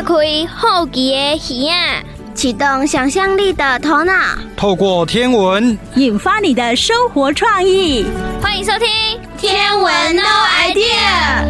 開好奇的耳仔，啟動想象力的頭腦， 透過天文引發你的生活創意。 歡迎收聽天文 No Idea。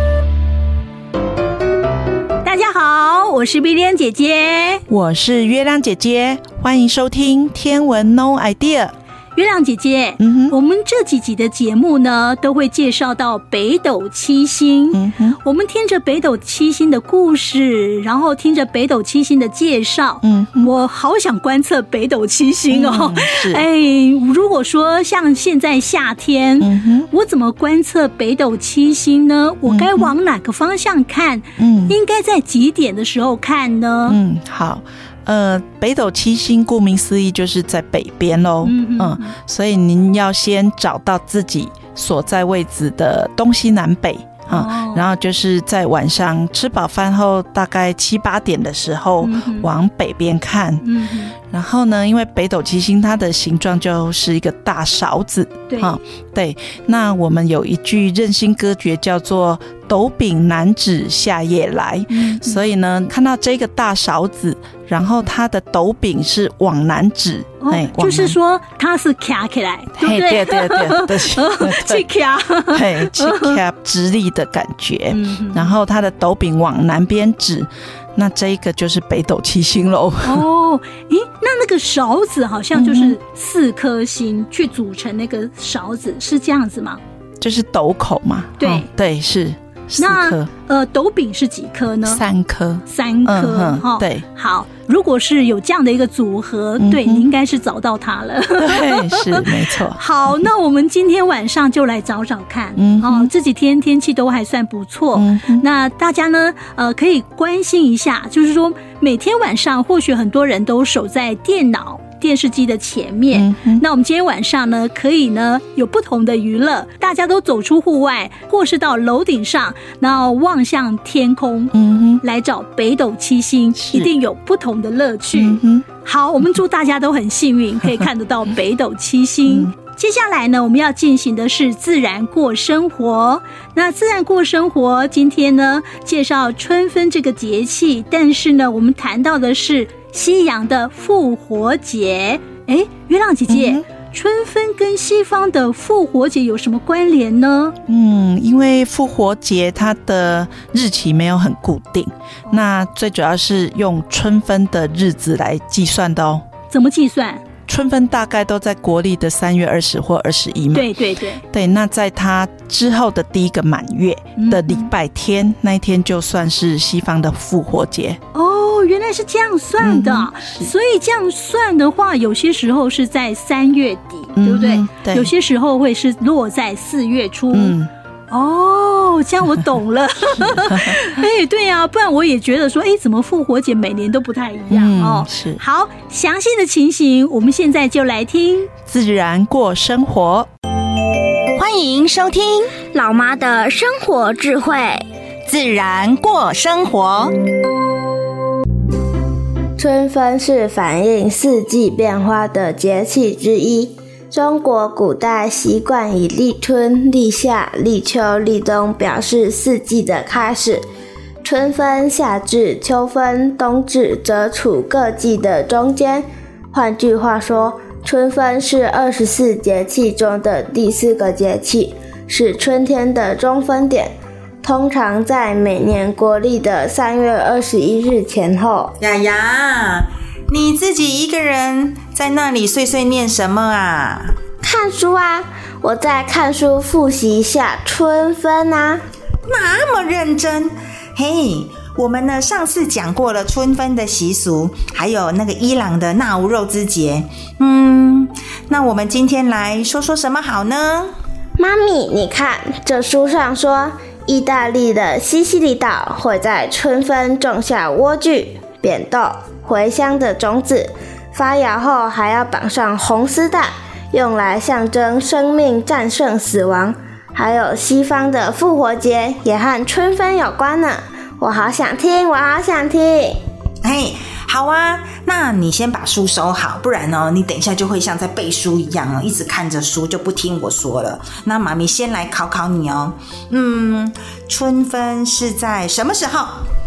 大家好，我是碧蓮姐姐， 我是月亮姐姐，歡迎收聽天文 No Idea。 月亮姐姐，我們這幾集的節目呢，都會介紹到北斗七星。我們聽着北斗七星的故事，然後聽着北斗七星的介紹，我好想觀測北斗七星哦。如果說像現在夏天，我怎麼觀測北斗七星呢？我該往哪個方向看？應該在幾點的時候看呢？ 好。北斗七星顧名思義就是在北邊咯。所以您要先找到自己所在位置的東西南北。然後就是在晚上吃飽飯後大概7、8點的時候往北邊看。然後呢，因為北斗七星它的形狀就是一個大勺子。對，那我們有一句任性歌訣叫做斗柄南指夏夜來。所以呢，看到這個大勺子，然後它的斗柄是往南指。 就是說它是卡起來，對不對？ 對， 去卡， 去卡直立的感覺。然後它的斗柄往南邊指，那這一個就是北斗七星嘍。 那個勺子好像就是4顆星去組成那個勺子，是這樣子嗎？ 就是斗口嘛。對，是4顆。 那斗柄是幾顆呢 ？3顆。 3顆。對，好。如果是有這樣的一個組合，對，你應該是找到它了。 對，是沒錯。 好，那我們今天晚上就來找找看。這幾天天氣都還算不錯。那大家呢，可以關心一下，就是說每天晚上或許很多人都守在電視機的前面。那我們今天晚上呢，可以呢有不同的娛樂，大家都走出戶外，或是到樓頂上，然後望向天空，來找北斗七星，一定有不同的樂趣。好，我們祝大家都很幸運，可以看得到北斗七星。接下來呢，我们要進行的是自然過生活。那自然過生活，今天呢介紹春分這個節氣，但是呢，我們談到的是西洋的復活節。月亮姐姐，春分跟西方的復活節有什麼關聯呢？ 因為復活節它的日期沒有很固定，那最主要是用春分的日子來計算的哦。 怎麼計算？ 春分大概都在國曆的3月20或21嘛。對，那在它之後的第一個滿月的禮拜天，那一天就算是西方的復活節。 原來是這樣算的。所以這樣算的話，有些時候是在3月底，對不對？對，有些時候會是落在4月初。這樣我懂了。對啊，不然我也覺得說，怎麼復活節每年都不太一樣。 是。好， 詳細的情形，我們現在就來聽自然過生活。 歡迎收聽老媽的生活智慧， 自然過生活。 春分是反映四季變化的節氣之一。中國古代習慣以立春、立夏、立秋、立冬表示四季的開始。春分、夏至、秋分、冬至則處各季的中間。換句話說，春分是24節氣中的第4個節氣，是春天的中分點。通常在每年國曆的3月21日前後。 雅雅，你自己一個人在那裡碎碎念什麼啊？ 看書啊，我在看書複習一下春分啊。 那麼認真？我們呢上次講過了春分的習俗，還有那個伊朗的納吾肉之節。那我們今天來說說什麼好呢？ 媽咪，你看這書上說，意大利的西西里島會在春分種下萵苣、扁豆、茴香的種子，發芽後還要綁上紅絲帶，用來象徵生命戰勝死亡。還有西方的復活節也和春分有關呢。我好想聽，我好想聽。 好啊，那你先把書收好，不然你等一下就會像在背書一樣一直看着書就不聽我說了。那媽咪先來考考你哦。春分是在什麼時候？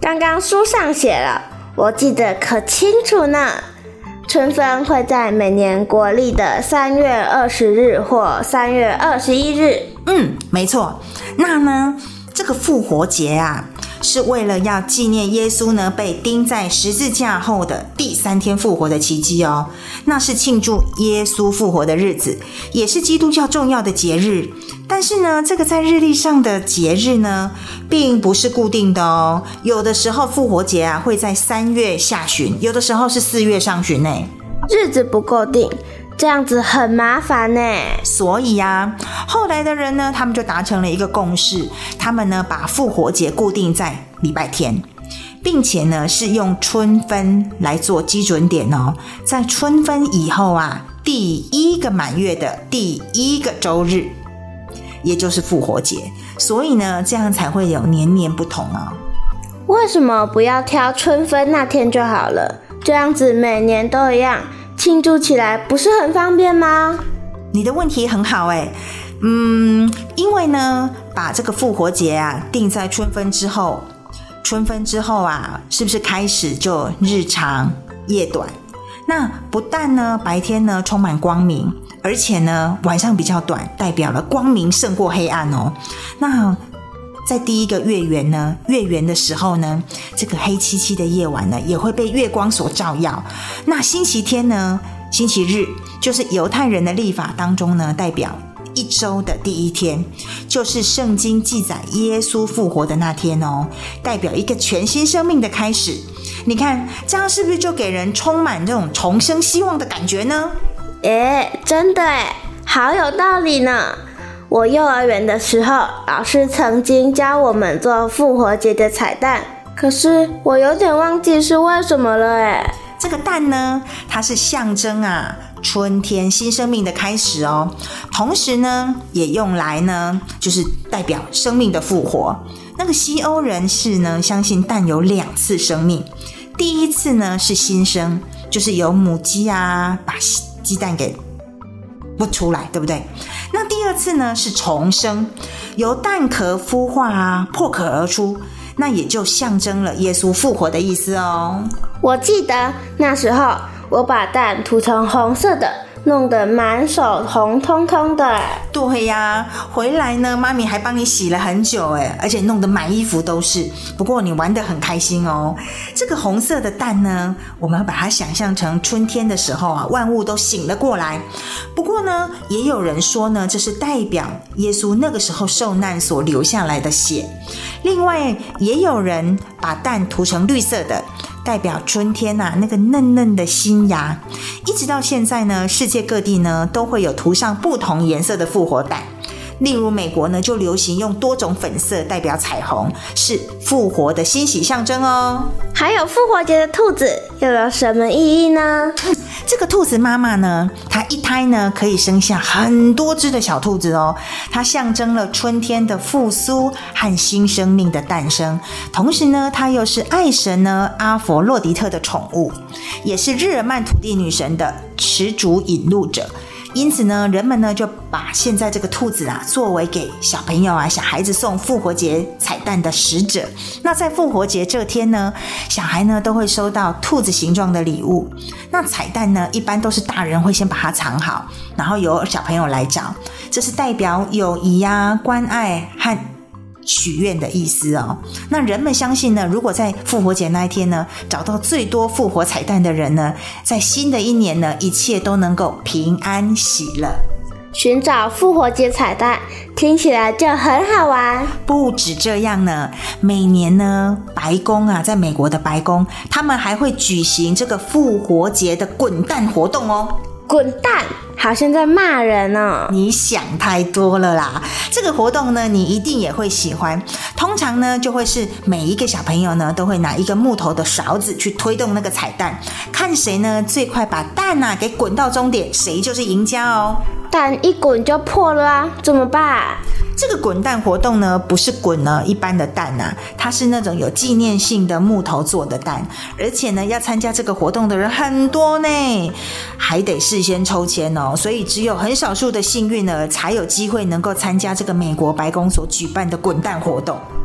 剛剛書上寫了，我記得可清楚呢。春分會在每年國曆的3月20日或3月21日。 沒錯。那呢，這個復活節啊，是為了要紀念耶穌呢被釘在十字架後的第3天復活的奇蹟哦。那是慶祝耶穌復活的日子，也是基督教重要的節日。但是呢，這個在日曆上的節日呢，並不是固定的哦。有的時候復活節啊會在3月下旬，有的時候是4月上旬呢。 日子不固定，這樣子很麻煩呢。 所以啊，後來的人呢，他們就達成了一個共識，他們呢把復活節固定在禮拜天，並且呢是用春分來做基準點哦。在春分以後啊，第1個滿月的第1個週日，也就是復活節。所以呢，這樣才會有年年不同哦。 為什麼不要挑春分那天就好了？這樣子每年都一樣，慶祝起來不是很方便嗎？ 你的問題很好誒。因為呢，把這個復活節啊定在春分之後啊，是不是開始就日長夜短？那不但呢白天呢充滿光明，而且呢晚上比較短，代表了光明勝過黑暗哦。那在第1個月圓呢，月圓的時候呢，這個黑漆漆的夜晚呢，也會被月光所照耀。那星期天呢，星期日就是猶太人的曆法當中呢，代表1週的第1天，就是聖經記載耶穌復活的那天哦，代表一個全新生命的開始。你看，這樣是不是就給人充滿這種重生希望的感覺呢？ 真的好有道理呢。我幼兒園的時候，老師曾經教我們做復活節的彩蛋，可是我有點忘記是為什麼了。 這個蛋呢，它是象徵啊春天新生命的開始哦，同時呢也用來呢就是代表生命的復活。那個西歐人士呢相信蛋有2次生命，第一次呢是新生，就是由母雞啊把雞蛋給孵出來，对不對？那第2次呢是重生，由蛋殼孵化啊破殼而出，那也就象徵了耶穌復活的意思哦。 我記得那時候我把蛋塗成紅色的，弄得滿手紅彤彤的。 對呀，回來呢媽咪還幫你洗了很久而且弄得滿衣服都是。不過你玩得很開心哦。這個紅色的蛋呢，我們把它想象成春天的時候啊，萬物都醒了過來。不過呢，也有人說呢，這是代表耶穌那個時候受難所流下來的血。另外也有人把蛋塗成綠色的，代表春天啊那個嫩嫩的新芽。一直到現在呢，世界各地呢都會有塗上不同顏色的復活蛋。例如美國呢就流行用多種粉色代表彩虹，是復活的欣喜象徵哦。 還有復活節的兔子又有什麼意義呢？ 這個兔子媽媽呢，它一胎呢可以生下很多隻的小兔子哦，它象徵了春天的復甦和新生命的誕生。同時呢，它又是愛神呢阿佛洛狄特的寵物，也是日耳曼土地女神的持主引路者。因此呢，人們呢就把現在這個兔子啊作為給小朋友啊小孩子送復活節彩蛋的使者。那在復活節這天呢，小孩呢都會收到兔子形狀的禮物。那彩蛋呢一般都是大人會先把它藏好，然後由小朋友來找，這是代表友誼啊關愛和許願的意思哦。那人們相信呢，如果在復活節那一天呢，找到最多復活彩蛋的人呢，在新的一年呢，一切都能夠平安喜樂。 尋找復活節彩蛋聽起來就很好玩。 不止這樣呢，每年呢，白宮啊，在美國的白宮，他們還會舉行這個復活節的滾蛋活動哦。 滾蛋，好像在罵人哦。 你想太多了啦。這個活動呢，你一定也會喜歡。通常呢，就會是每一個小朋友呢，都會拿一個木頭的勺子去推動那個彩蛋，看誰呢最快把蛋啊給滾到終點，誰就是贏家哦。 蛋一滾就破了啊，怎麼辦？ 這個滾蛋活動呢，不是滾呢一般的蛋啊，它是那種有紀念性的木頭做的蛋，而且呢，要參加這個活動的人很多呢，還得事先抽籤哦，所以只有很少數的幸運兒才有機會能夠參加這個美國白宮所舉辦的滾蛋活動。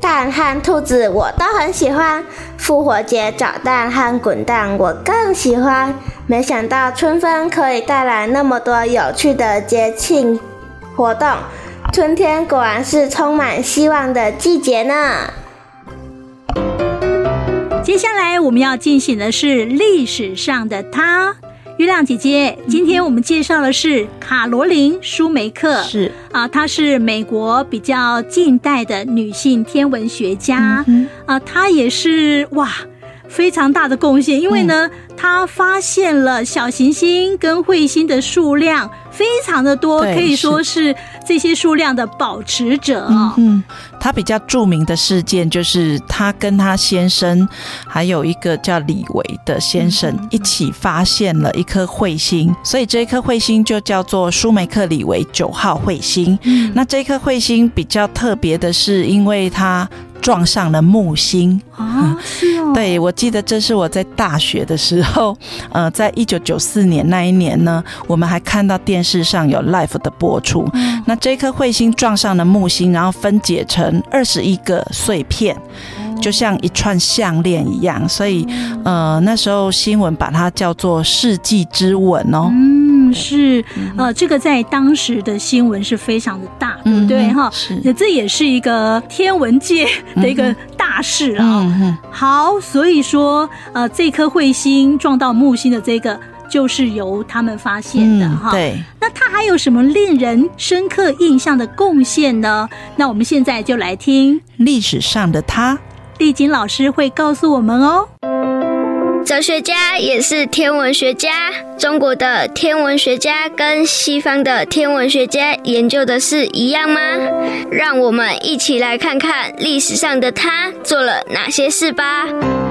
蛋和兔子我都很喜歡，復活節找蛋和滾蛋我更喜歡。沒想到春分可以帶來那麼多有趣的節慶活動，春天果然是充滿希望的季節呢。 接下來我們要進行的是歷史上的她。月亮姐姐，今天我們介紹的是卡羅琳·舒梅克，是啊，她是美國比較近代的女性天文學家，她也是非常大的貢獻，因為呢，她發現了小行星跟彗星的數量非常的多，可以說是這些數量的保持者。她比較著名的事件就是她跟她先生還有一個叫李維的先生一起發現了一顆彗星，所以这顆彗星就叫做舒梅克李維9號彗星。那這顆彗星比較特別的是，因為它撞上了木星是哦。對，我記得這是我在大學的時候，在1994年那一年呢，我們還看到電視上有 live 的播出。那這顆彗星撞上了木星，然後分解成21個碎片，就像一串項鏈一樣，所以那時候新聞把它叫做世紀之吻哦。是這個在當時的新聞是非常的大，對不對哈？是，這也是一個天文界的一個大事啊。好，所以說這顆彗星撞到木星的這個就是由他們發現的哈。對，那他還有什麼令人深刻印象的貢獻呢？那我們現在就來聽歷史上的他，麗菁老師會告訴我們哦。 哲學家也是天文學家，中國的天文學家跟西方的天文學家研究的是一樣嗎？讓我們一起來看看歷史上的他做了哪些事吧。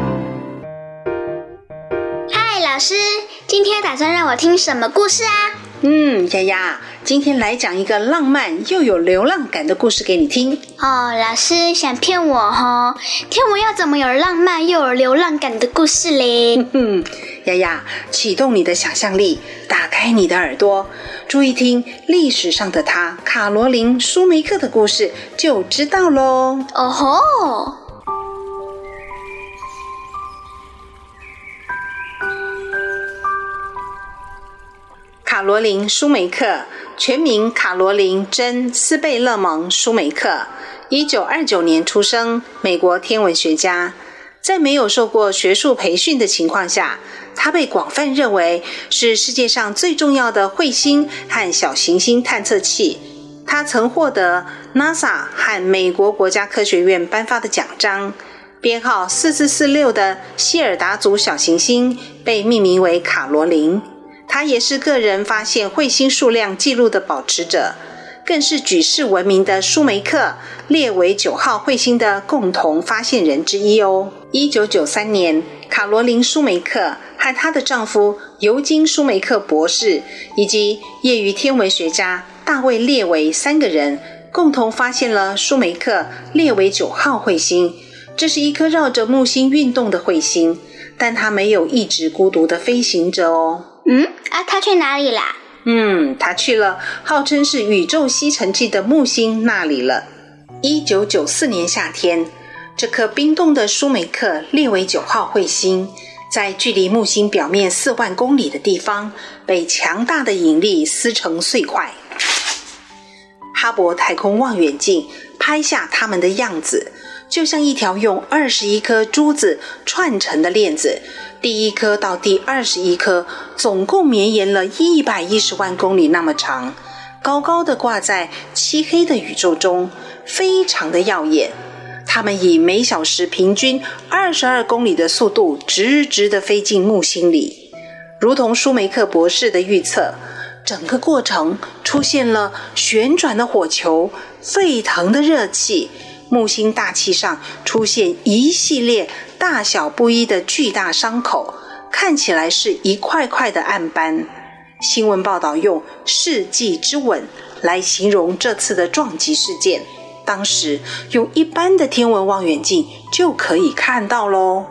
嗨，老師，今天打算讓我聽什麼故事啊？ 丫丫，今天来講一個浪漫又有流浪感的故事給你聽。 哦，老師想騙我齁？天文要怎麼有浪漫又有流浪感的故事嘞？ 丫丫，啟動你的想象力，打開你的耳朵，注意聽歷史上的她卡羅琳·舒梅克的故事，就知道咯。 哦吼！ 卡羅琳·舒梅克，全名卡羅琳·珍·斯貝勒蒙·舒梅克，1929年出生，美國天文學家。在沒有受過學術培訓的情況下，他被廣泛認為是世界上最重要的彗星和小行星探測器。他曾獲得 NASA 和美國國家科學院頒發的獎章。編號4446的希爾達族小行星被命名為卡羅琳。他也是個人發現彗星數量記錄的保持者，更是舉世聞名的舒梅克列為9號彗星的共同發現人之一哦。1993年，卡羅琳·舒梅克和她的丈夫尤金·舒梅克博士以及業餘天文學家大衛·列維3個人共同發現了舒梅克列為9號彗星。這是一顆繞着木星運動的彗星，但它沒有一直孤獨的飛行着哦。 他去哪裡啦？ 他去了號稱是宇宙吸塵器的木星那裡了。1994年夏天，這顆冰凍的舒梅克列為9號彗星，在距離木星表面4萬公里的地方，被強大的引力撕成碎塊。哈勃太空望遠鏡拍下它們的樣子，就像一條用21顆珠子串成的鏈子，第1顆到第21顆總共綿延了110萬公里那麼長，高高的掛在漆黑的宇宙中，非常的耀眼。它們以每小時平均22公里的速度直直地飛進木星裡，如同舒梅克博士的預測，整個過程出現了旋轉的火球、沸騰的熱氣，木星大氣上出現一系列大小不一的巨大傷口，看起來是一塊塊的暗斑。新聞報道用世紀之吻來形容這次的撞擊事件，當時用一般的天文望遠鏡就可以看到咯。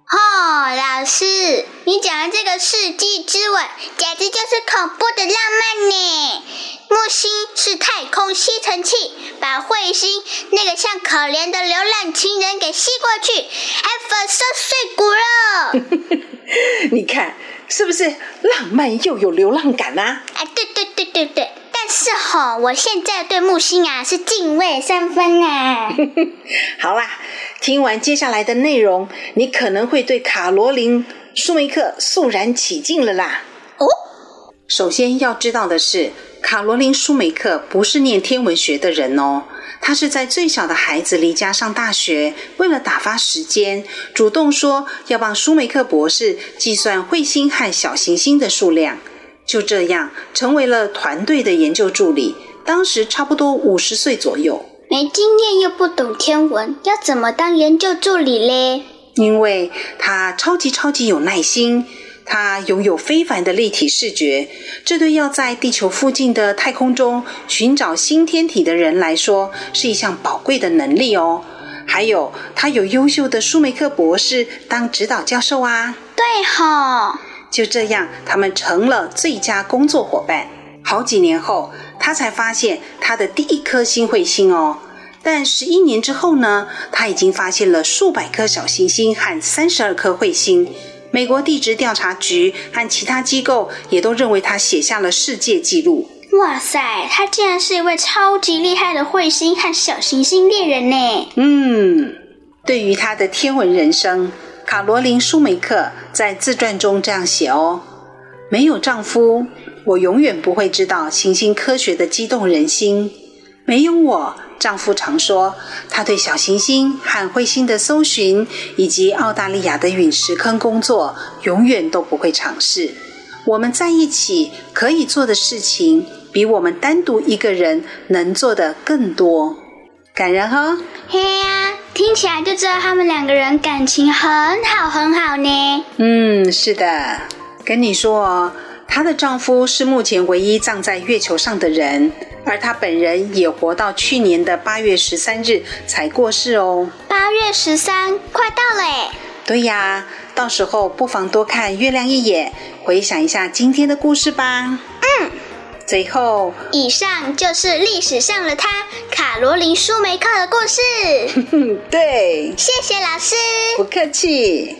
老師，你講的這個世紀之吻，簡直就是恐怖的浪漫呢！木星是太空吸塵器，把彗星那個像可憐的流浪情人給吸過去，還粉身碎骨了。 你看，是不是浪漫又有流浪感啊？ 對。但是我現在對木星是敬畏三分啊。 好啦，聽完接下來的內容，你可能會對卡羅琳·舒梅克肅然起敬了啦。首先要知道的是，卡羅琳·舒梅克不是念天文學的人哦，她是在最小的孩子離家上大學，為了打發時間，主動說要幫舒梅克博士計算彗星和小行星的數量。就這樣成為了團隊的研究助理，當時差不多50歲左右。 沒經驗又不懂天文，要怎麼當研究助理嘞？ 因為他超級有耐心，他擁有非凡的立體視覺，這對要在地球附近的太空中尋找新天體的人來說是一項寶貴的能力哦。還有他有優秀的舒梅克博士當指導教授啊。 對吼。 就這樣，他們成了最佳工作夥伴。好幾年後，他才發現他的第一顆新彗星哦。但11年之後呢，他已經發現了數百顆小行星和32顆彗星。美國地質調查局和其他機構也都認為他寫下了世界紀錄。 哇塞，他竟然是一位超級厲害的彗星和小行星獵人呢。 對於他的天文人生，卡羅琳·舒梅克在自傳中這樣寫哦：沒有丈夫，我永遠不會知道行星科學的激動人心。沒有我，丈夫常說，他對小行星和彗星的搜尋，以及澳大利亞的隕石坑工作，永遠都不會嘗試。我們在一起可以做的事情，比我們單獨一個人能做的更多。感人哦。 嘿呀，聽起來就知道他們兩個人感情很好呢。 是的，跟你說哦，她的丈夫是目前唯一葬在月球上的人，而她本人也活到去年的8月13日才過世哦。 8月13，快到了耶。 對呀，到時候不妨多看月亮一眼，回想一下今天的故事吧。最後， 以上就是歷史上的她卡羅琳·舒梅克的故事。 對， 謝謝老師。 不客氣。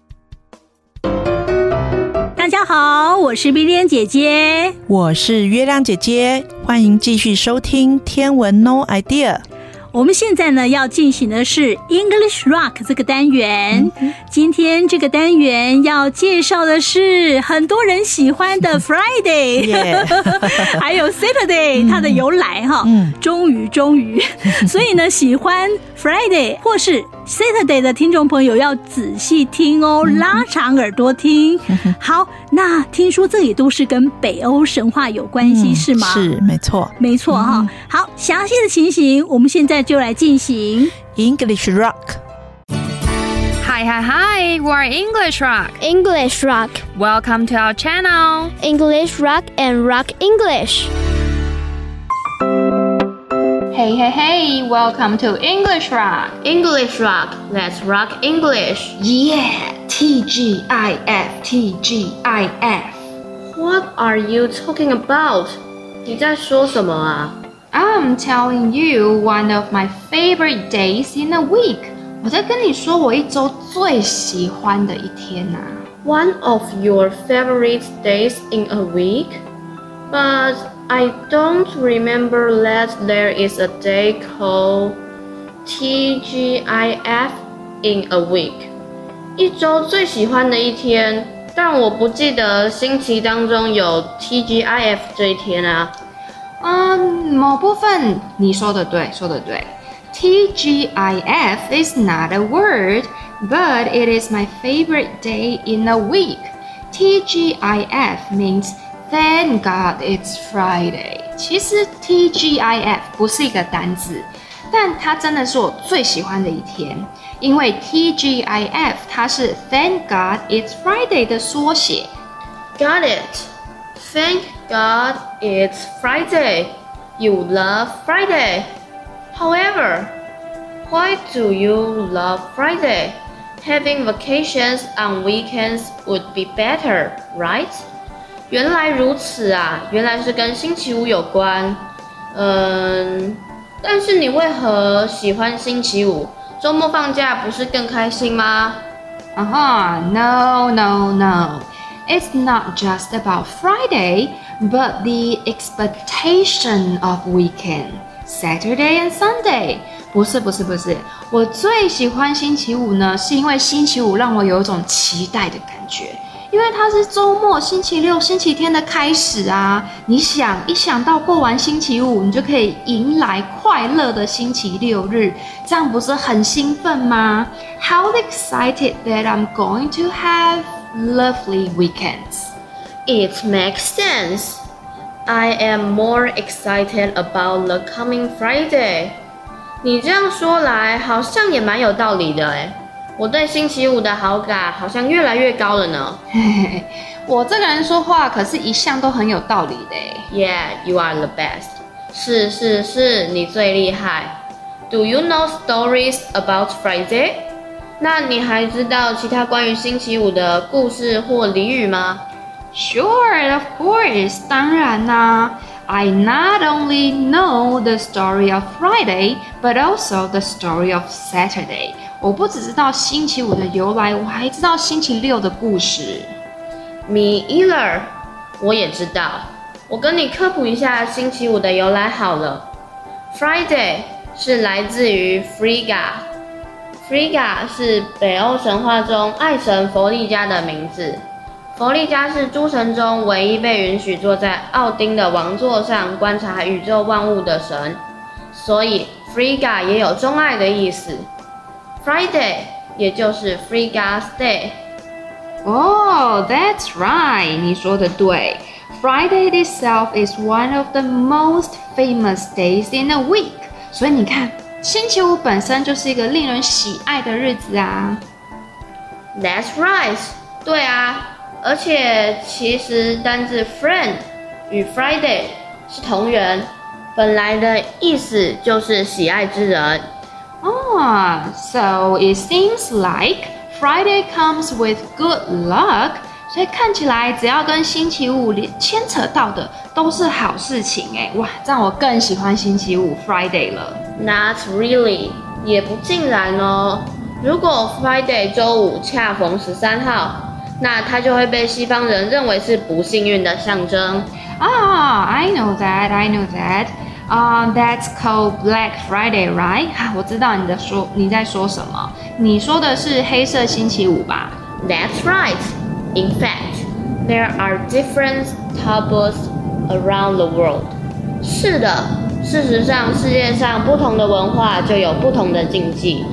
大家好，我是碧蓮姐姐， 我是月亮姐姐，歡迎繼續收聽天文 No Idea。 我們現在呢要進行的是 English Rock 這個單元。今天這個單元要介紹的是很多人喜歡的 Friday， 還有 Saturday 它的由來哈。終於，所以呢，喜歡 Friday 或是 Saturday 的聽眾朋友要仔細聽哦，拉長耳朵聽。好，那聽說這也都是跟北歐神話有關係，是嗎？ 是，沒錯哈。好，詳細的情形我們現在就來進行 English Rock。Hi, we're English Rock. English Rock. Welcome to our channel. English Rock and Rock English. Hey, welcome to English Rock. English Rock, let's rock English. Yeah, TGIF. What are you talking about? 你在說什麼啊？ I'm telling you one of my favorite days in a week. 我在跟你說我一周最喜歡的一天啊。 One of your favorite days in a week? But I don't remember that there is a day called TGIF in a week. 一周最喜歡的一天，但我不記得星期當中有 TGIF 這一天啊。 某部分你說的對。TGIF is not a word, but it is my favorite day in a week. TGIF means Thank God it's Friday. 其實 TGIF 不是一個單字，但它真的是我最喜歡的一天，因為 TGIF 它是 Thank God it's Friday 的縮寫。 Got it. Thank God it's Friday. You love Friday. However, why do you love Friday? having vacations on weekends would be better, right? 原來如此啊，原来是跟星期五有關。但是你为何喜歡星期五？周末放假不是更開心嗎 ？No. It's not just about Friday, but the expectation of weekend, Saturday and Sunday. 不是，我最喜歡星期五呢，是因為星期五讓我有一種期待的感覺，因為它是周末，星期六、星期天的開始啊。你想，一想到過完星期五，你就可以迎來快樂的星期六日，這樣不是很興奮嗎？ How excited that I'm going to have lovely weekends. It makes sense. I am more excited about the coming Friday. 你這樣說來，好像也蠻有道理的誒。我對星期五的好感好像越來越高了呢。 我這個人說話可是一向都很有道理的。 Yeah, you are the best. 是，你最厲害。Do you know stories about Friday? 那你還知道其他關於星期五的故事或俚語嗎？ Sure, of course. 當然啦。I not only know the story of Friday, but also the story of Saturday. 我不只知道星期五的由來，我還知道星期六的故事。 Me either. 我也知道。我跟你科普一下星期五的由来好了。Friday 是來自於 Frigga。Frigga 是北歐神話中愛神弗利嘉的名字。弗利嘉是諸神中唯一被允許坐在奧丁的王座上觀察宇宙萬物的神，所以 Frigga 也有鍾愛的意思。Friday 也就是 Frigga's Day。 Oh, that's right. 你說的對。Friday itself is one of the most famous days in a week. 所以你看，星期五本身就是一個令人喜愛的日子啊。 That's right. 對啊。而且其實單字 friend 與 Friday 是同源，本來的意思就是喜愛之人。 So it seems like Friday comes with good luck. 所以看起來只要跟星期五牽扯到的都是好事情哎，哇，這樣我更喜歡星期五 Friday 了。 Not really， 也不盡然哦。如果 Friday 週五恰逢13號。那它就會被西方人認為是不幸運的象徵。 I know that. That's called Black Friday, right? 我知道你在說什麼。你說的是黑色星期五吧？ That's right. In fact, there are different taboos around the world. 是的，事實上，世界上不同的文化就有不同的禁忌。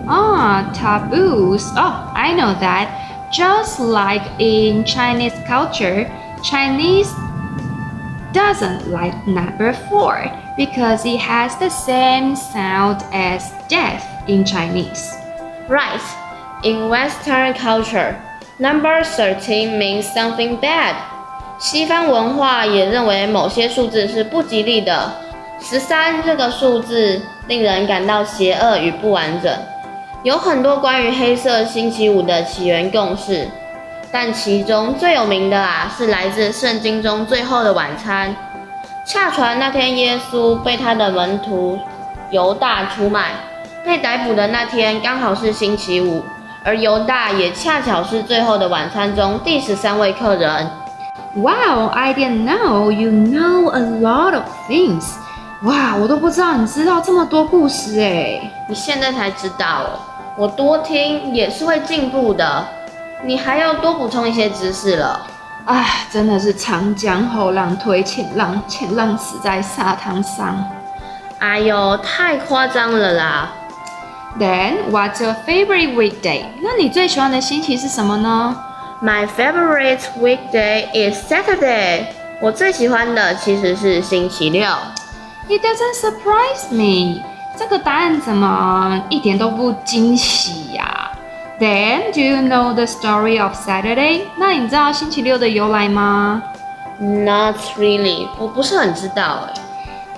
Taboos. I know that.Just like in Chinese culture, Chinese doesn't like number 4 because it has the same sound as death in Chinese. Right. In Western culture, number 13 means something bad. 西方文化也認為某些數字是不吉利的。13這個數字令人感到邪惡與不完整。有很多關於黑色星期五的起源共識，但其中最有名的是來自聖經中最後的晚餐。洽傳那天耶穌被他的門徒猶大出賣，被逮捕的那天剛好是星期五，而猶大也恰巧是最後的晚餐中第13位客人。 Wow, I didn't know you know a lot of things. 哇，我都不知道你知道這麼多故事耶。 你現在才知道哦。我多聽也是會進步的，你還要多補充一些知識了。 真的是長江後浪推前浪，前浪死在沙灘上。 哎呦，太誇張了啦。 Then, what's your favorite weekday? 那你最喜歡的星期是什麼呢？ My favorite weekday is Saturday. 我最喜歡的其實是星期六。 It doesn't surprise me. 這個答案怎麼一點都不驚喜呀？Then, do you know the story of Saturday? 那你知道星期六的由來嗎？ Not really. 我不是很知道。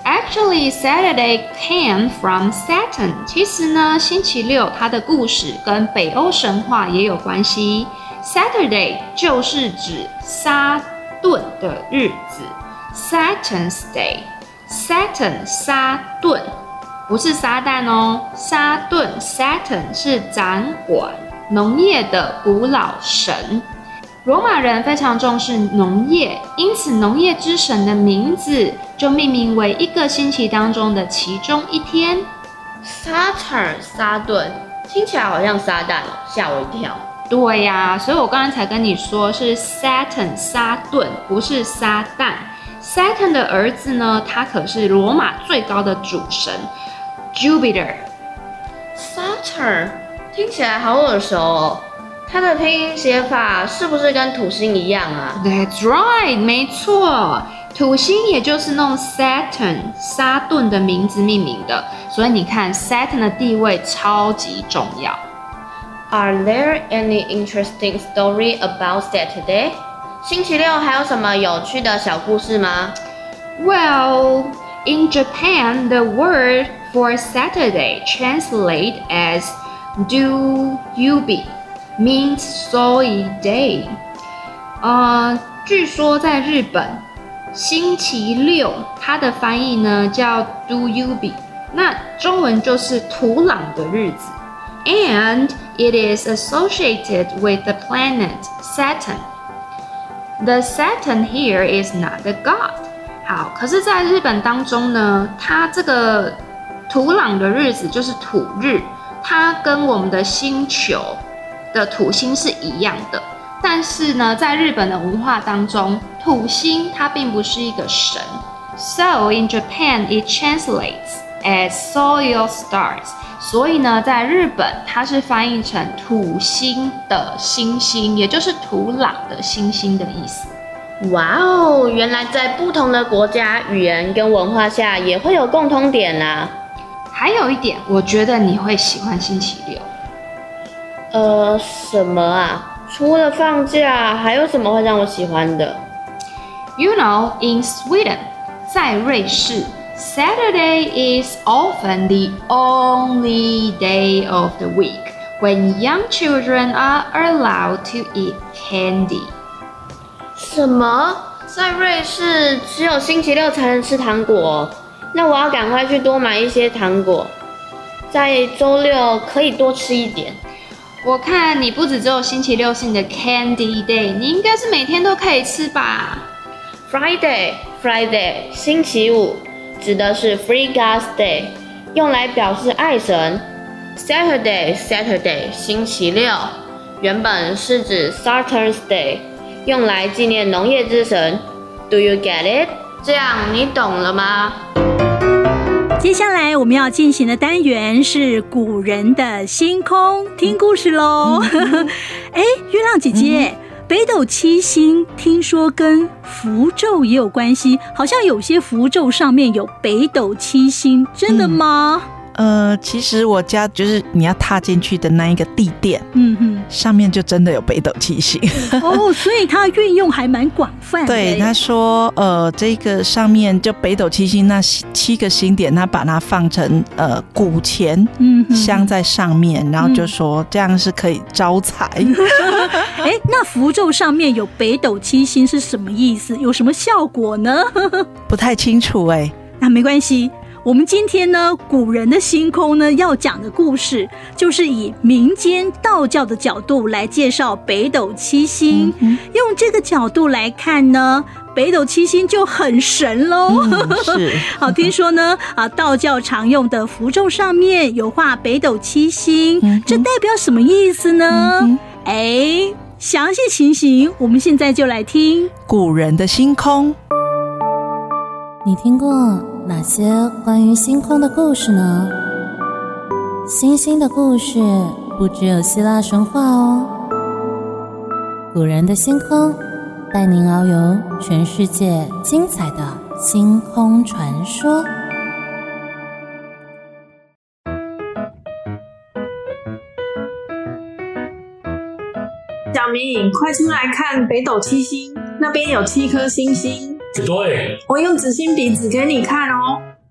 Actually, Saturday came from Saturn. 其實呢，星期六它的故事跟北歐神話也有關係。Saturday 就是指撒頓的日子 ，Saturn's Day。Saturn 撒頓不是撒旦哦，撒頓 Saturn 是掌管農業的古老神。羅馬人非常重視農業，因此農業之神的名字就命名為一個星期當中的其中一天。 Saturn 撒頓聽起來好像撒旦哦，嚇我一跳。 對呀，所以我剛剛才跟你說是 Saturn 撒頓，不是撒旦。Saturn 的兒子呢，他可是羅馬最高的主神 Jupiter。Saturn 聽起來好耳熟哦。它的拼音寫法是不是跟土星一樣啊？ That's right， 沒錯，土星也就是弄 Saturn 撒頓的名字命名的，所以你看 Saturn 的地位超級重要。 Are there any interesting story about Saturday？ 星期六還有什麼有趣的小故事嗎？ Well, in Japan, the word for Saturday translates as do-yubi。means Soy Day。据說在日本，星期六它的翻譯呢叫 Do-yubi， 那中文就是土壤的日子。And it is associated with the planet Saturn. The Saturn here is not a god. 好，可是在日本当中呢，它這個土壤的日子就是土日，它跟我們的星球的土星是一樣的，但是呢，在日本的文化當中，土星它並不是一個神。So in Japan, it translates as soil stars. 所以呢，在日本它是翻譯成土星的星星，也就是土壤的星星的意思。 哇哦，原來在不同的國家、語言跟文化下也會有共通點啊。 還有一點，我覺得你會喜歡星期六。 什麼啊？除了放假，還有什麼會讓我喜歡的？ You know, in Sweden, 在瑞士 Saturday is often the only day of the week when young children are allowed to eat candy. 什麼？在瑞士只有星期六才能吃糖果？那我要趕快去多買一些糖果，在周六可以多吃一點。 我看你不只有星期六是你的 Candy Day， 你應該是每天都可以吃吧？ Friday 星期五指的是 Free God's Day， 用來表示愛神。Saturday 星期六原本是指 Saturn's Day， 用來紀念農業之神。Do you get it？ 這樣你懂了嗎？ 接下來我們要進行的單元是古人的星空，聽故事咯。月亮姐姐，北斗七星聽說跟符咒也有關係，好像有些符咒上面有北斗七星，真的嗎？ 其實我家就是你要踏進去的那一個地墊，上面就真的有北斗七星。 所以它運用還蠻廣泛的。 對，他說，這個上面就北斗七星那7個星點，他把它放成古錢鑲在上面，然後就說這樣是可以招財。 那符咒上面有北斗七星是什麼意思？有什麼效果呢？ 不太清楚那沒關係。我們今天呢，古人的星空呢，要講的故事就是以民間道教的角度來介紹北斗七星。用這個角度來看呢，北斗七星就很神咯。 是。 好，聽說呢，道教常用的符咒上面有畫北斗七星，這代表什麼意思呢？詳細情形我們現在就來聽古人的星空。 你聽過哪些關於星空的故事呢？星星的故事不只有希臘神話哦。古人的星空帶您遨遊全世界精彩的星空傳說。 小明，快出來看北斗七星，那邊有7顆星星。 對， 我用紙芯筆指給你看哦。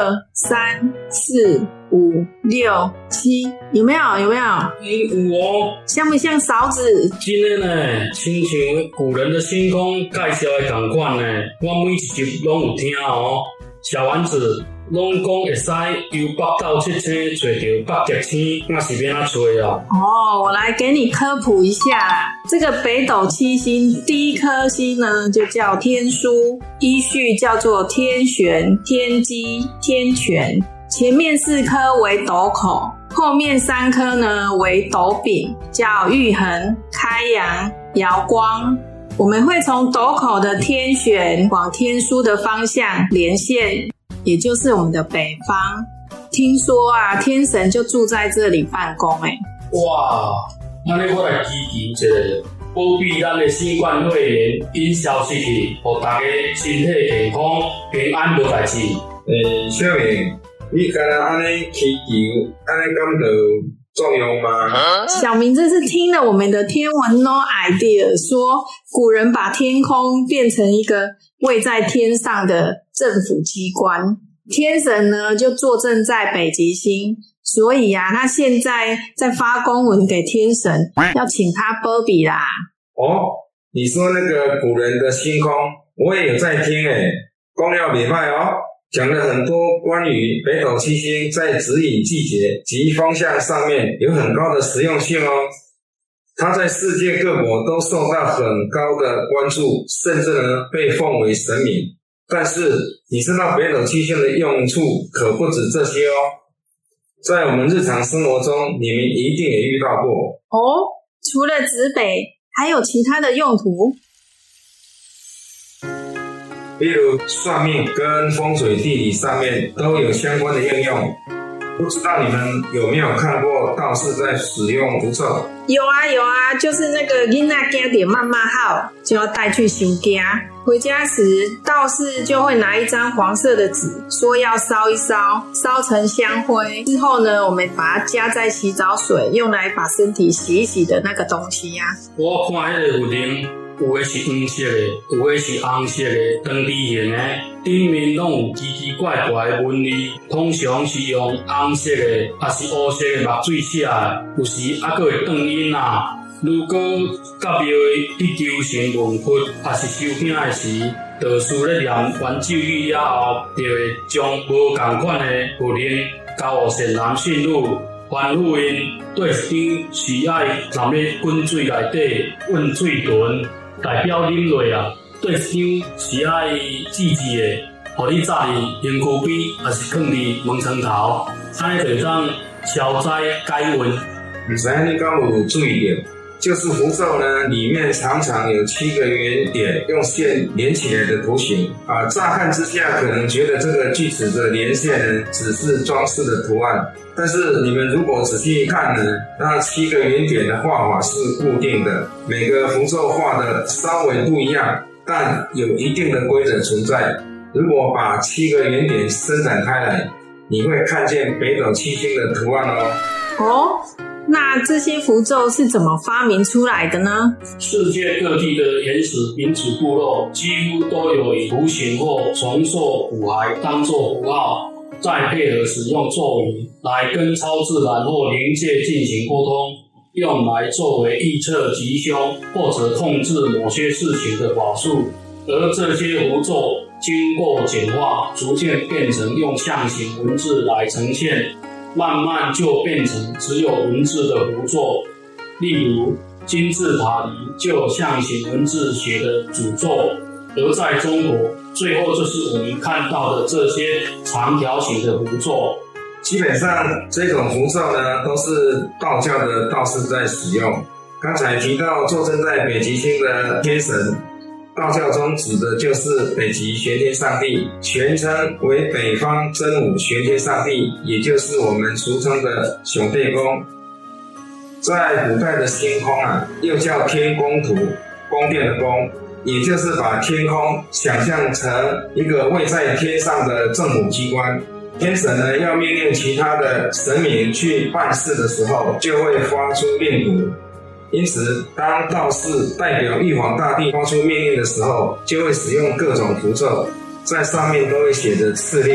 3、4、5、6、7，有沒有？有哦， 像不像勺子？ 真的呢，親像古人的星空介紹的同款呢，我每一集攏有聽哦。小丸子攏講會使由北到七星找到北極星，那是要怎找啊？ 哦，我來給你科普一下啦。這個北斗七星第一顆星呢，就叫天樞，依序叫做天璇、天機、天權。前面4顆為斗口，後面3顆呢為斗柄，叫玉衡、開陽、瑤光。我們會從斗口的天璇往天樞的方向連線，也就是我們的北方。聽說啊，天神就住在這裡辦公誒。 哇，那我來祈求一下，保庇咱的新冠肺炎因消失去，讓大家身體健康、平安無代志。 小明，你敢若安尼祈求，安尼敢就作用嗎？ 小明這是聽了我們的天文 No Idea 說，古人把天空變成一個位在天上的政府機關，天神呢就坐鎮在北極星，所以啊，他現在在發公文給天神，要請他保庇啦。 哦，你說那個古人的星空，我也有在聽誒，講了不錯哦。講了很多關於北斗七星在指引季節及風向上面有很高的實用性哦。它在世界各國都受到很高的關注，甚至呢被奉為神明。但是你知道北斗七星的用處可不止這些哦。在我們日常生活中，你們一定也遇到過哦。除了指北，還有其他的用途？ 例如算命跟風水地理上面都有相關的應用。不知道你們有沒有看過道士在使用符咒？ 有啊，就是那個囡仔驚到媽媽好，就要帶去收驚。回家時，道士就會拿一張黃色的紙，說要燒一燒，燒成香灰之後呢，我們把它加在洗澡水，用來把身體洗一洗的那個東西呀。 我看那個符鈴。有的是黃色的，有的是紅色的，長枝形的，頂面攏有奇奇怪怪的紋理。通常是用紅色的，還是烏色的墨水寫的，有時還佫會斷印啊。如果甲廟去求神問佛，還是收驚的時，道士咧念完咒語了後，就會將無同款的符鈴交予善男信女。還婦因對一張是愛淋咧滾水內底溫水豚。代表啉落啊，對一張是愛祭祀的，互你扎佇身軀邊，還是放佇門床頭，安尼就會當消災解運。 不知道你敢有注意到，就是符咒呢，裡面常常有7個圓點用線連起來的圖形啊。乍看之下，可能覺得這個句子的連線呢，只是裝飾的圖案。但是你們如果仔細看呢，那7個圓點的畫法是固定的，每個符咒畫的稍微不一樣，但有一定的規則存在。如果把7個圓點伸展開來，你會看見北斗七星的圖案哦。 哦，那這些符咒是怎麼發明出來的呢？ 世界各地的原始民族部落幾乎都有以圖形或重塑符骸當作符號，再配合使用咒語來跟超自然或靈界進行溝通，用來作為預測吉凶或者控制某些事情的法術。而這些符咒經過簡化，逐漸變成用象形文字來呈現，慢慢就變成只有文字的符咒。例如金字塔裡就有象形文字寫的詛咒，而在中國，最後就是我們看到的這些長條形的符咒。 基本上這種符咒呢，都是道教的道士在使用。剛才提到坐鎮在北極星的天神，道教中指的就是北極玄天上帝，全稱為北方真武玄天上帝，也就是我們俗稱的熊帝公。在古代的星空啊，又叫天宮圖，宮殿的宮，也就是把天空想象成一個位在天上的政府機關。天神呢，要命令其他的神明去辦事的時候，就會發出令符。因此，當道士代表玉皇大帝發出命令的時候，就會使用各種符咒，在上面都會寫着敕令，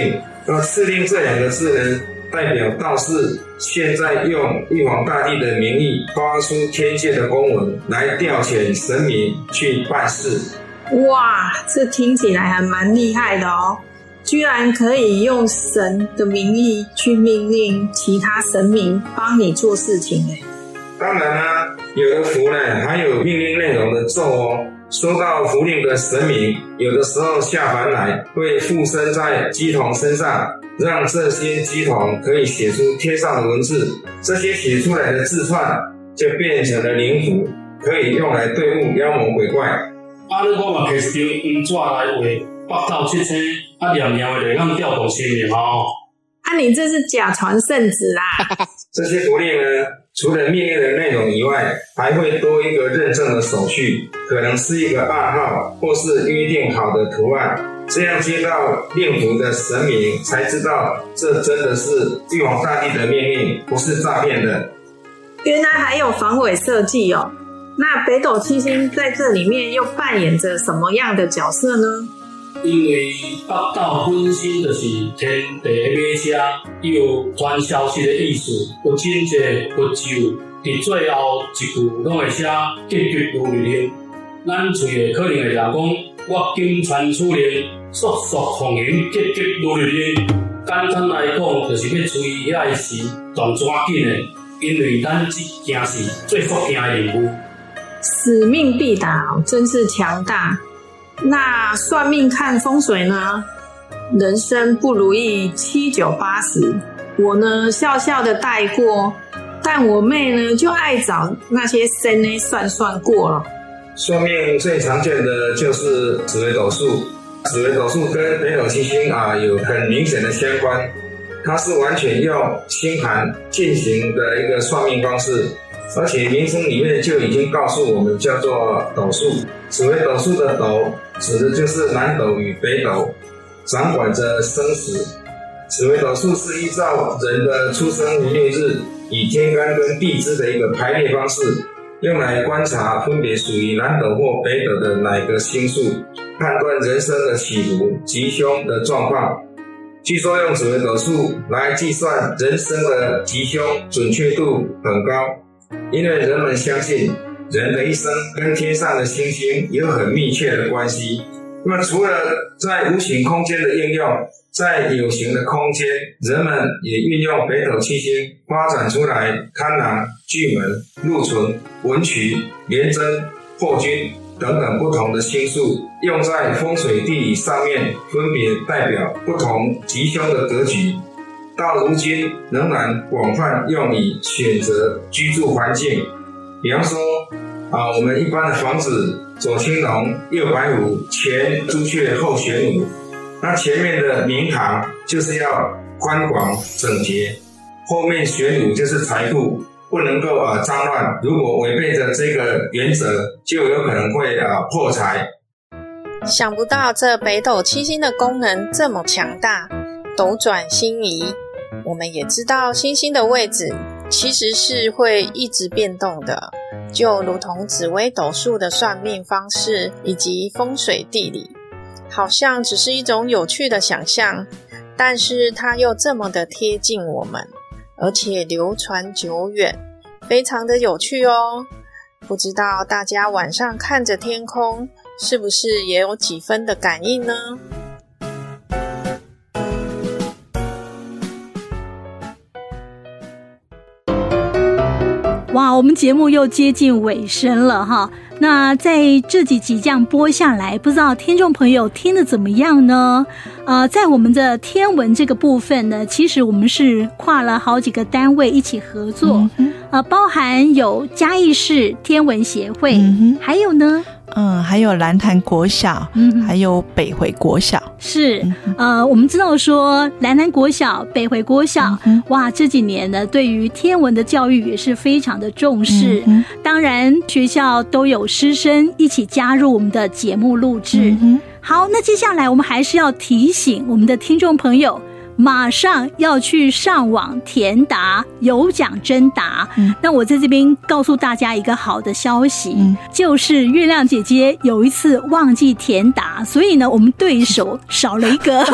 而敕令這2個字呢，代表道士現在用玉皇大帝的名義發出天界的公文，來調遣神明去辦事。 哇，這聽起來還蠻厲害的哦！居然可以用神的名義去命令其他神明幫你做事情耶。 當然啦，有的符呢還有命令內容的咒哦。收到符令的神明，有的時候下凡來會附身在乩童身上，讓這些乩童可以寫出天上的文字，這些寫出來的字串就變成了靈符，可以用來對付妖魔鬼怪。 你我嘛摕一張黃紙來畫北斗七星，念念的就能調動神明哦。 你這是假傳聖旨啦！ 這些符令呢，除了命令的內容以外，還會多一個認證的手續，可能是一個暗號，或是約定好的圖案。這樣接到令符的神明才知道，這真的是玉皇大帝的命令，不是詐騙的。 原來還有防偽設計哦！那北斗七星在這裡面又扮演着什麼樣的角色呢？ 因為北斗本身就是天地的馬車，有傳消息的意思，有真濟佛咒，在最後一句攏會寫急急如律令。咱喙可能會講我今傳此令，速速奉行，急急如律令。簡單來講，就是要注意遐個時動抓緊的，因為咱這件事最福驚的任務。 使命必達，真是強大。那算命看風水呢？人生不如意7、9、80，我呢笑笑的帶過，但我妹呢就愛找那些神呢算過了。 算命最常見的就是紫微斗數，紫微斗數跟北斗七星有很明顯的相關，它是完全用星盤進行的一個算命方式。而且名稱裡面就已經告訴我們，叫做斗數。紫微斗數的斗指的就是南斗與北斗，掌管着生死。紫微斗數是依照人的出生年月日，以天干跟地支的一個排列方式，用來觀察分別屬於南斗或北斗的哪個星宿，判斷人生的起伏、吉凶的狀況。據說用紫微斗數來計算人生的吉凶，準確度很高。因為人們相信人的一生跟天上的星星有很密切的關係。那麼除了在無形空間的應用，在有形的空間，人們也運用北斗七星發展出來貪狼、巨門、祿存、文曲、廉貞、破軍等等不同的星宿，用在風水地理上面，分別代表不同吉凶的格局。到如今仍然廣泛用以選擇居住環境，比方說我們一般的房子左青龍右白虎，前朱雀後玄武，那前面的明堂就是要寬廣整潔，後面玄武就是財庫，不能夠髒亂，如果違背着這個原則，就有可能會破財。 想不到這北斗七星的功能這麼強大，斗轉星移。我們也知道星星的位置其實是會一直變動的，就如同紫微斗數的算命方式以及風水地理，好像只是一種有趣的想象，但是它又這麼的貼近我們，而且流傳久遠，非常的有趣哦。不知道大家晚上看着天空，是不是也有幾分的感應呢？ 哇，我們節目又接近尾聲了哈。那在這幾集這樣播下來，不知道聽眾朋友聽得怎麼樣呢？在我們的天文這個部分呢，其實我們是跨了好幾個單位一起合作，包含有嘉義市天文協會，還有呢， 還有蘭潭國小，還有北回國小。 是，我們知道說蘭潭國小、北回國小，哇，這幾年呢，對於天文的教育也是非常的重視。當然，學校都有師生一起加入我們的節目錄製。好，那接下來我們還是要提醒我們的聽眾朋友， 馬上要去上網填答有獎徵答。那我在這邊告訴大家一個好的消息，就是月亮姐姐有一次忘記填答，所以呢，我們對手少了一個。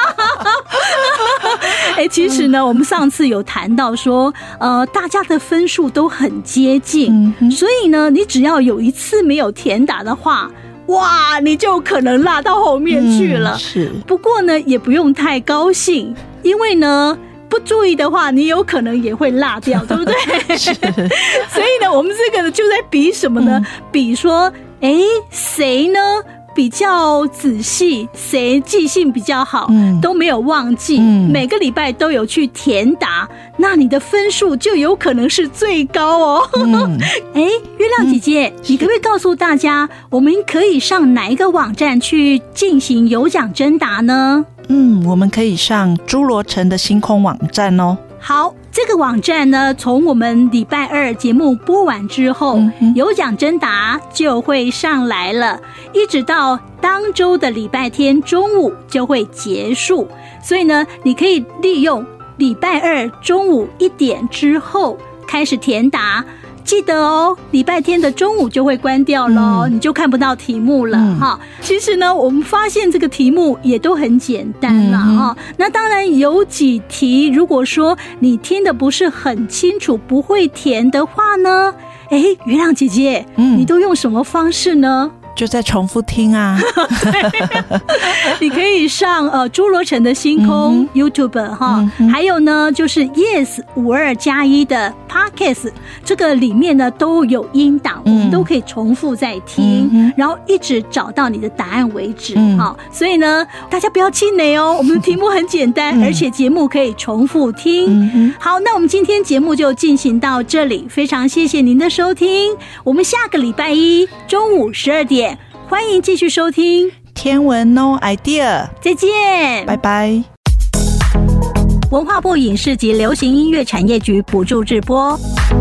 其實呢，我們上次有談到說，大家的分數都很接近，所以呢，你只要有一次沒有填答的話，哇，你就可能落到後面去了。 是， 不過呢，也不用太高興，因為呢，不注意的話，你有可能也會落掉，對不對？是。所以呢，我們這個就在比什麼呢？比說，誰呢比較仔細，誰記性比較好，都沒有忘記，每個禮拜都有去填答，那你的分數就有可能是最高哦。月亮姐姐，你可不可以告訴大家，我們可以上哪一個網站去進行有獎徵答呢？ 我們可以上諸羅城的星空網站哦。 好，這個網站呢，從我們禮拜二節目播完之後，有獎徵答就會上來了，一直到當周的禮拜天中午就會結束。所以呢，你可以利用禮拜二中午1點之後開始填答。記得哦，禮拜天的中午就會關掉咯，你就看不到題目了哈。其實呢，我們發現這個題目也都很簡單啦哈。那當然有幾題，如果說你聽得不是很清楚，不會填的話呢，月亮姐姐，你都用什麼方式呢？ 就在重複聽啊。 你可以上諸羅城的星空 YouTube 哈，還有呢就是 Yes52+1的 Podcast， 這個裡面呢都有音檔，我們都可以重複再聽，然後一直找到你的答案為止哈。所以呢，大家不要氣餒哦，我們的題目很簡單，而且節目可以重複聽。好，那我們今天節目就進行到這裡，非常謝謝您的收聽，我們下個禮拜一中午12點。歡迎繼續收聽天文 No Idea， 再見， 拜拜。 文化部影視及流行音樂產業局補助直播。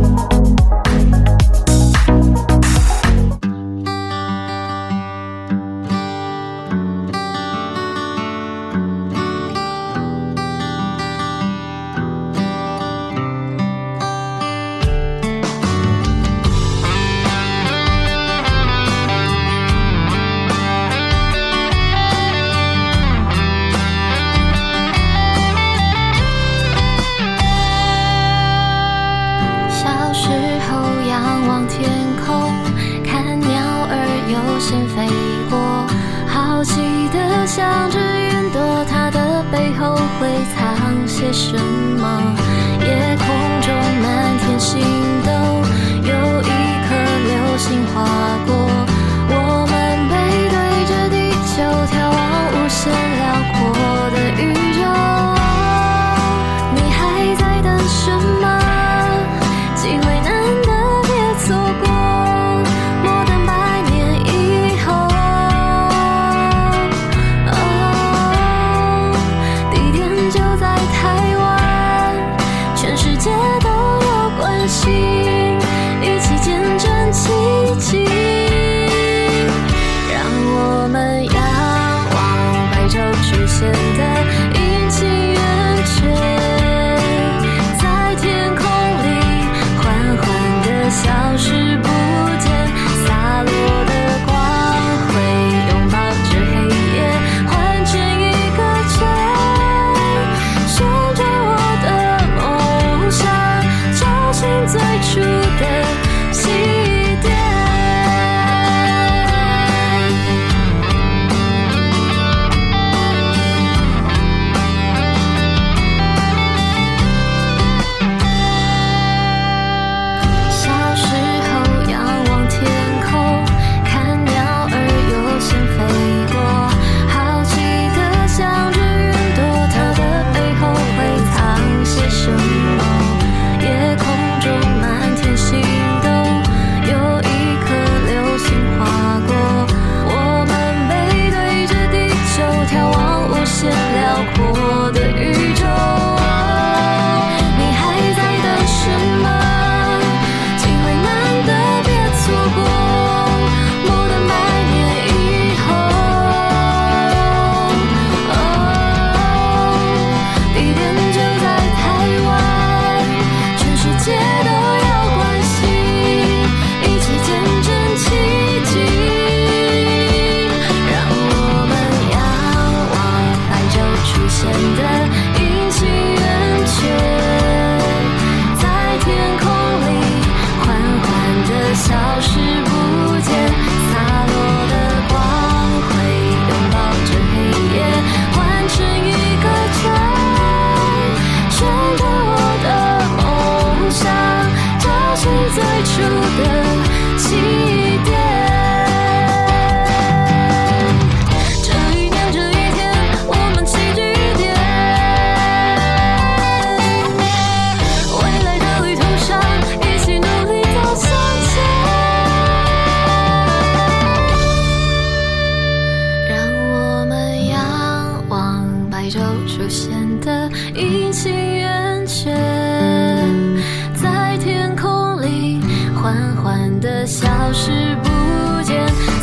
像只雲朵，它的背後會藏些什麼？夜空中滿天星斗，有一顆流星劃過，我們背對着地球，眺望無限遼闊的宇宙。你還在等什麼？機會難得，別錯過。世界都有關係。 消失不見，灑落的光輝擁抱着黑夜，完成一個圈，圈到我的夢想，找尋最初的起點。出現的陰晴圓缺，在天空裡緩緩地消失不見。